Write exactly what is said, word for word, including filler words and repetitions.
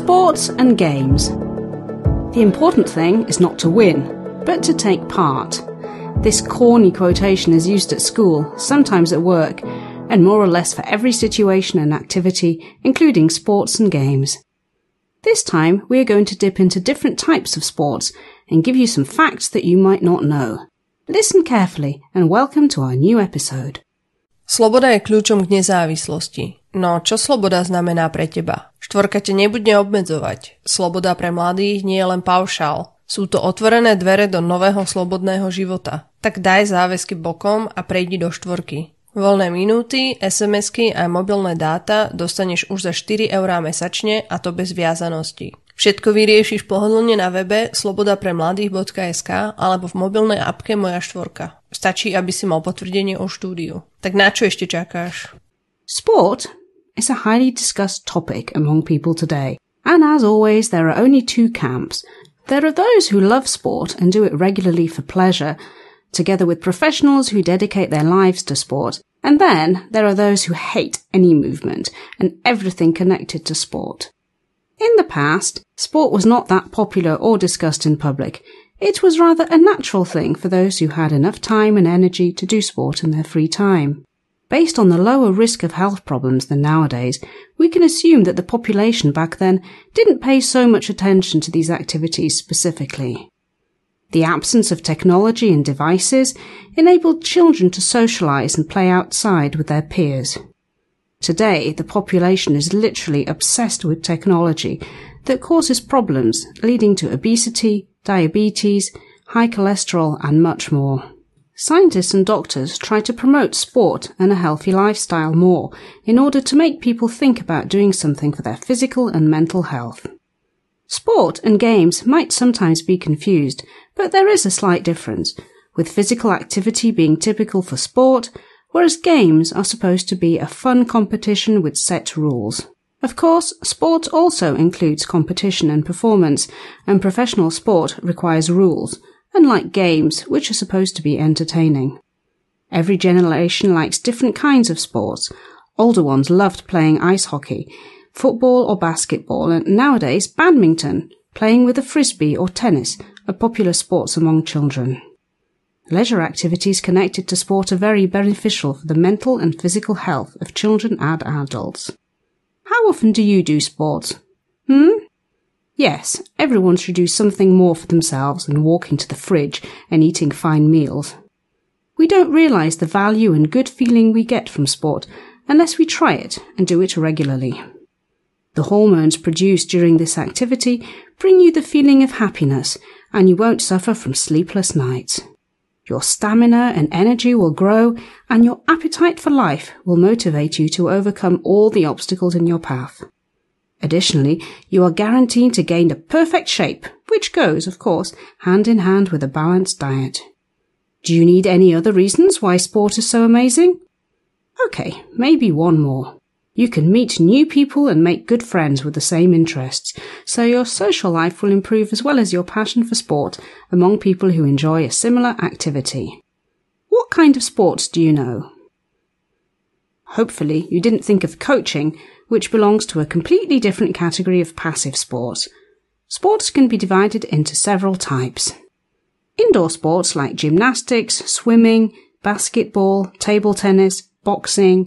Sports and games. The important thing is not to win, but to take part. This corny quotation is used at school, sometimes at work, and more or less for every situation and activity, including sports and games. This time, we are going to dip into different types of sports and give you some facts that you might not know. Listen carefully and welcome to our new episode. Sloboda je kľúčom k nezávislosti. No, čo sloboda znamená pre teba? Štvorka te nebude obmedzovať. Sloboda pre mladých nie je len paušál. Sú to otvorené dvere do nového slobodného života. Tak daj záväzky bokom a prejdi do štvorky. Voľné minúty, es em esky a mobilné dáta dostaneš už za štyri eurá mesačne a to bez viazanosti. Všetko vyriešiš pohodlne na webe slobodapremladých bodka es ká alebo v mobilnej apke Moja štvorka. Stačí, aby si mal potvrdenie o štúdiu. Tak na čo ešte čakáš? Sport is a highly discussed topic among people today. And as always, there are only two camps. There are those who love sport and do it regularly for pleasure, together with professionals who dedicate their lives to sport. And then there are those who hate any movement and everything connected to sport. In the past, sport was not that popular or discussed in public. It was rather a natural thing for those who had enough time and energy to do sport in their free time. Based on the lower risk of health problems than nowadays, we can assume that the population back then didn't pay so much attention to these activities specifically. The absence of technology and devices enabled children to socialize and play outside with their peers. Today, the population is literally obsessed with technology that causes problems, leading to obesity, diabetes, high cholesterol, and much more. Scientists and doctors try to promote sport and a healthy lifestyle more in order to make people think about doing something for their physical and mental health. Sport and games might sometimes be confused, but there is a slight difference, with physical activity being typical for sport, whereas games are supposed to be a fun competition with set rules. Of course, sport also includes competition and performance, and professional sport requires rules, unlike games, which are supposed to be entertaining. Every generation likes different kinds of sports. Older ones loved playing ice hockey, football or basketball, and nowadays badminton, playing with a frisbee or tennis, are popular sports among children. Leisure activities connected to sport are very beneficial for the mental and physical health of children and adults. How often do you do sports? Hmm? Yes, everyone should do something more for themselves than walking to the fridge and eating fine meals. We don't realise the value and good feeling we get from sport unless we try it and do it regularly. The hormones produced during this activity bring you the feeling of happiness, and you won't suffer from sleepless nights. Your stamina and energy will grow, and your appetite for life will motivate you to overcome all the obstacles in your path. Additionally, you are guaranteed to gain a perfect shape, which goes, of course, hand in hand with a balanced diet. Do you need any other reasons why sport is so amazing? Okay, maybe one more. You can meet new people and make good friends with the same interests, so your social life will improve as well as your passion for sport among people who enjoy a similar activity. What kind of sports do you know? Hopefully you didn't think of coaching, which belongs to a completely different category of passive sports. Sports can be divided into several types. Indoor sports like gymnastics, swimming, basketball, table tennis, boxing,